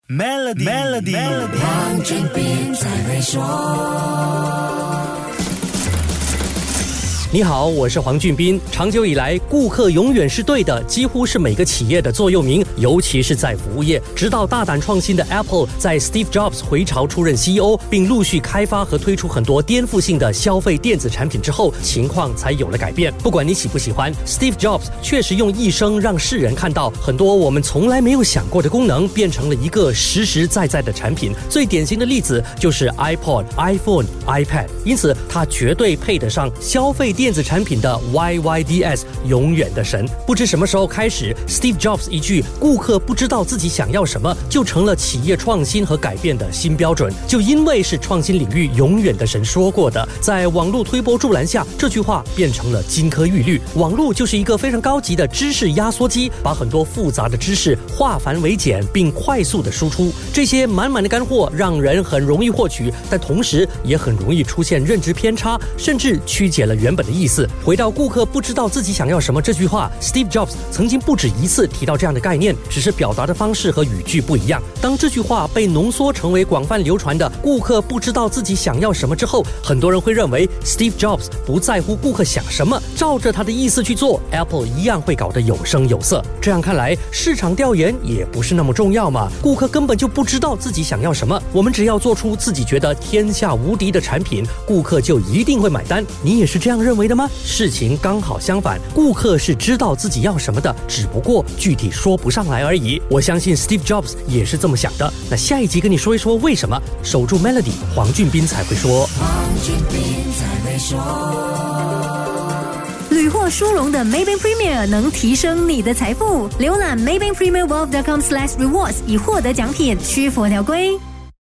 Melody， 黄俊斌才会说。 你好，我是黄俊斌。长久以来，顾客永远是对的，几乎是每个企业的座右铭，尤其是在服务业。直到大胆创新的 Apple 在 Steve Jobs 回巢出任 CEO， 并陆续开发和推出很多颠覆性的消费电子产品之后，情况才有了改变。不管你喜不喜欢， Steve Jobs 确实用一生让世人看到很多我们从来没有想过的功能变成了一个实实在在的产品。最典型的例子就是 iPod、iPhone、iPad， 因此它绝对配得上消费电子产品的 YYDS 永远的神。不知什么时候开始， Steve Jobs 一句顾客不知道自己想要什么就成了企业创新和改变的新标准。就因为是创新领域永远的神说过的，在网络推波助澜下，这句话变成了金科玉律。网络就是一个非常高级的知识压缩机，把很多复杂的知识化繁为简并快速的输出。这些满满的干货让人很容易获取，但同时也很容易出现认知偏差，甚至曲解了原本的意思。回到顾客不知道自己想要什么这句话， Steve Jobs 曾经不止一次提到这样的概念，只是表达的方式和语句不一样。当这句话被浓缩成为广泛流传的顾客不知道自己想要什么之后，很多人会认为 Steve Jobs 不在乎顾客想什么，照着他的意思去做， Apple 一样会搞得有声有色。这样看来，市场调研也不是那么重要嘛，顾客根本就不知道自己想要什么，我们只要做出自己觉得天下无敌的产品，顾客就一定会买单。你也是这样认为的吗？事情刚好相反，顾客是知道自己要什么的，只不过具体说不上来而已。我相信 Steve Jobs 也是这么想的。那下一集跟你说一说为什么。守住 Melody， 黄俊斌才会说。 黄俊斌才会说。 屡获殊荣的 Maybank Premier 能提升你的财富。浏览 maybankpremierwealth.com/rewards 以获得奖品，需符合条规。